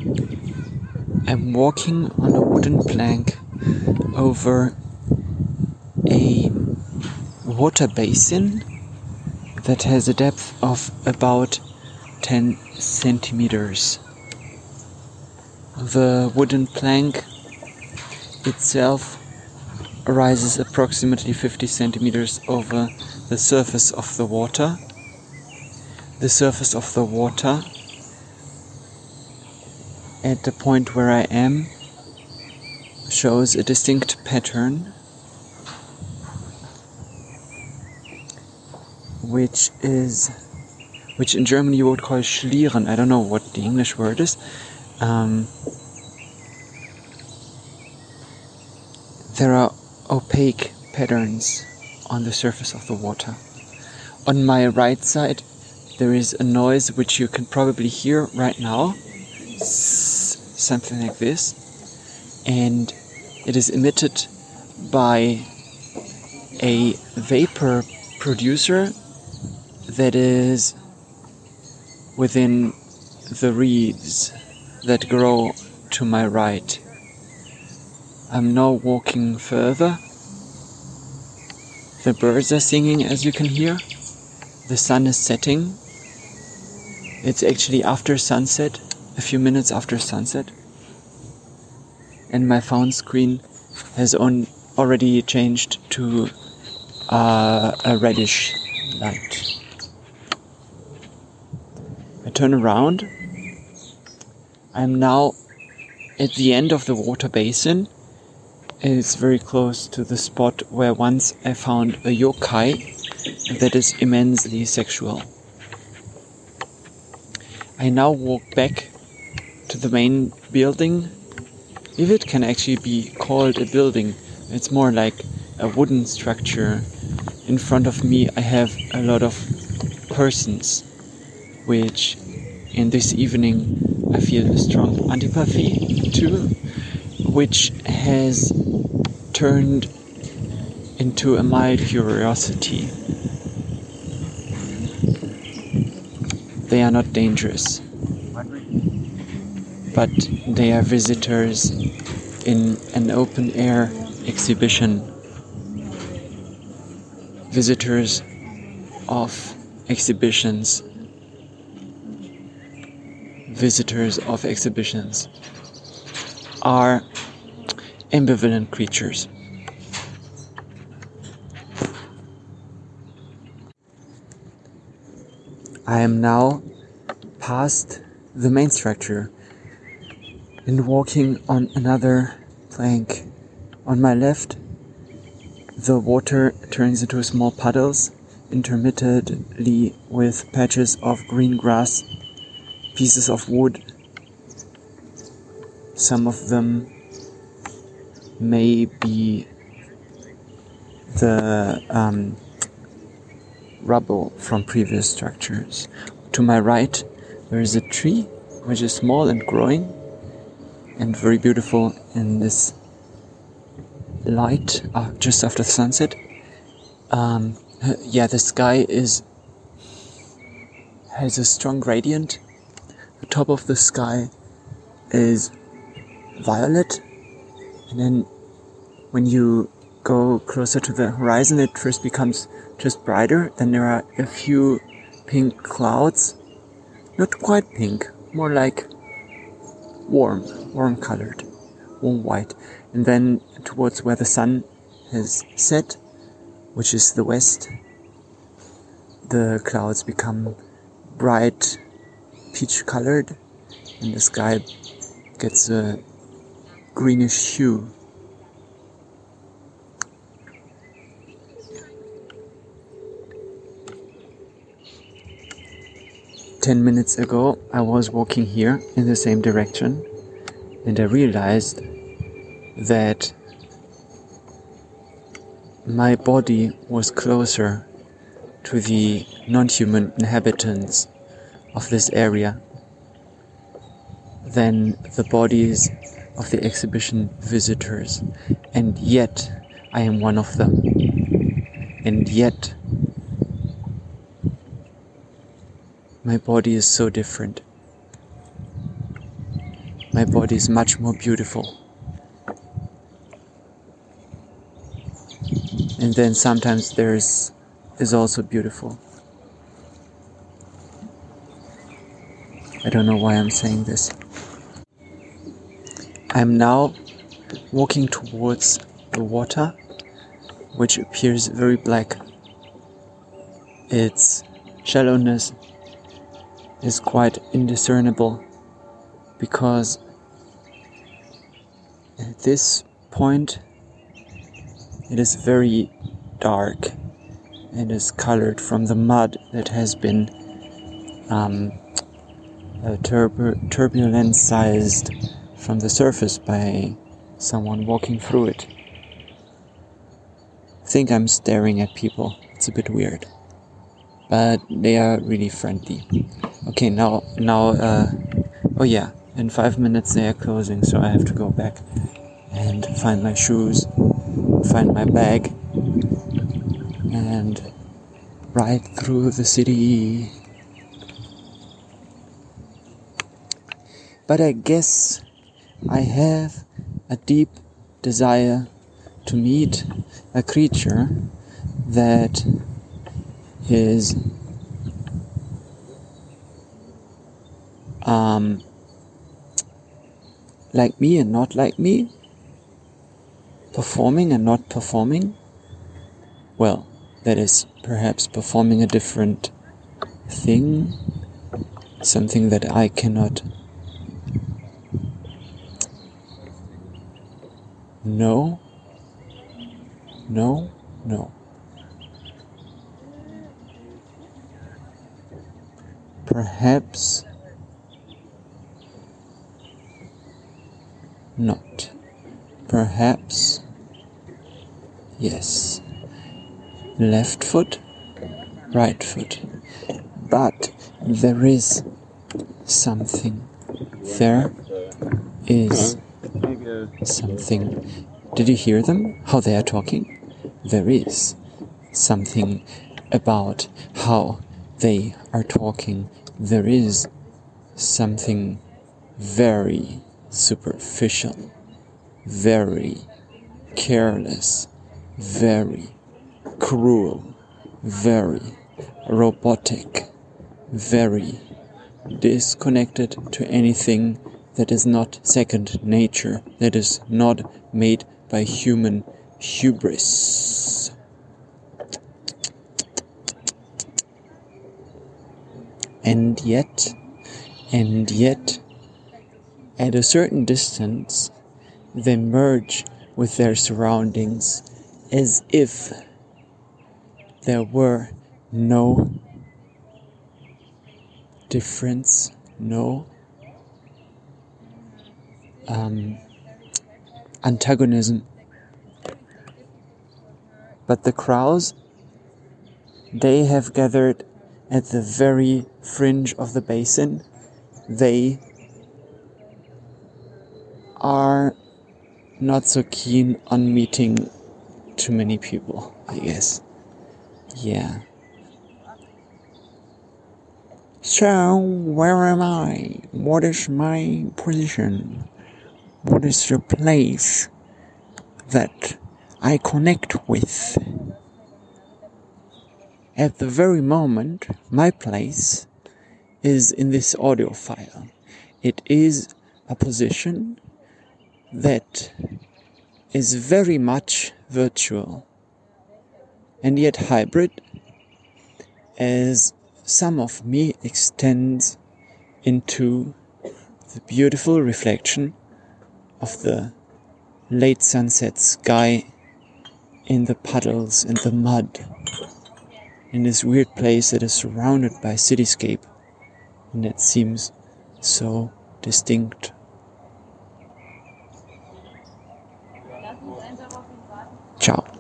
I'm walking on a wooden plank over a water basin that has a depth of about 10 centimeters. The wooden plank itself rises approximately 50 centimeters over the surface of the water. The surface of the water at the point where I am shows a distinct pattern, which in German you would call Schlieren. I don't know what the English word is. There are opaque patterns on the surface of the water. On my right side there is a noise which you can probably hear right now, something like this, and it is emitted by a vapor producer that is within the reeds that grow to my right. I'm now walking further. The birds are singing, as you can hear. The sun is setting. It's actually after sunset, a few minutes after sunset. And my phone screen has already changed to a reddish light. I turn around. I'm now at the end of the water basin. It's very close to the spot where once I found a yokai that is immensely sexual. I now walk back to the main building. If it can actually be called a building, it's more like a wooden structure. In front of me I have a lot of persons, which in this evening I feel a strong antipathy to, which has turned into a mild curiosity. They are not dangerous, but they are visitors in an open-air exhibition. Visitors of exhibitions. Visitors of exhibitions are ambivalent creatures. I am now past the main structure and walking on another plank. On my left, the water turns into small puddles, intermittently with patches of green grass, pieces of wood. Some of them may be the rubble from previous structures. To my right, there is a tree which is small and growing and very beautiful in this light just after sunset. The sky has a strong gradient. The top of the sky is violet, and then when you go closer to the horizon it first becomes just brighter. Then there are a few pink clouds, not quite pink, more like warm colored, warm white. And then towards where the sun has set, which is the west, the clouds become bright peach colored and the sky gets a greenish hue. Ten minutes ago I was walking here in the same direction and I realized that my body was closer to the non-human inhabitants of this area than the bodies of the exhibition visitors, and yet I am one of them, and yet my body is so different. my body is much more beautiful. And then sometimes theirs is also beautiful. I don't know why I'm saying this. I'm now walking towards the water, which appears very black. Its shallowness is quite indiscernible, because at this point it is very dark and is colored from the mud that has been turbulence-sized from the surface by someone walking through it. I think I'm staring at people. It's a bit weird, but they are really friendly. Okay, now, oh yeah, in 5 minutes they are closing, so I have to go back and find my shoes, find my bag, and ride through the city. But I guess I have a deep desire to meet a creature that is like me and not like me, performing and not performing. Well, that is perhaps performing a different thing, something that I cannot know. Perhaps not. Perhaps yes. Left foot, right foot. But there is something. There is something. Did you hear them? How they are talking? There is something about how they are talking. There is something very superficial, very careless, very cruel, very robotic, very disconnected to anything that is not second nature, that is not made by human hubris. And yet, at a certain distance, they merge with their surroundings as if there were no difference, no antagonism. But the crows, they have gathered at the very fringe of the basin. They are not so keen on meeting too many people, I guess. Yeah. So, where am I? What is my position? What is the place that I connect with? At the very moment, my place is in this audio file. It is a position that is very much virtual and yet hybrid, as some of me extends into the beautiful reflection of the late sunset sky in the puddles and the mud, in this weird place that is surrounded by cityscape and that seems so distinct. Ciao.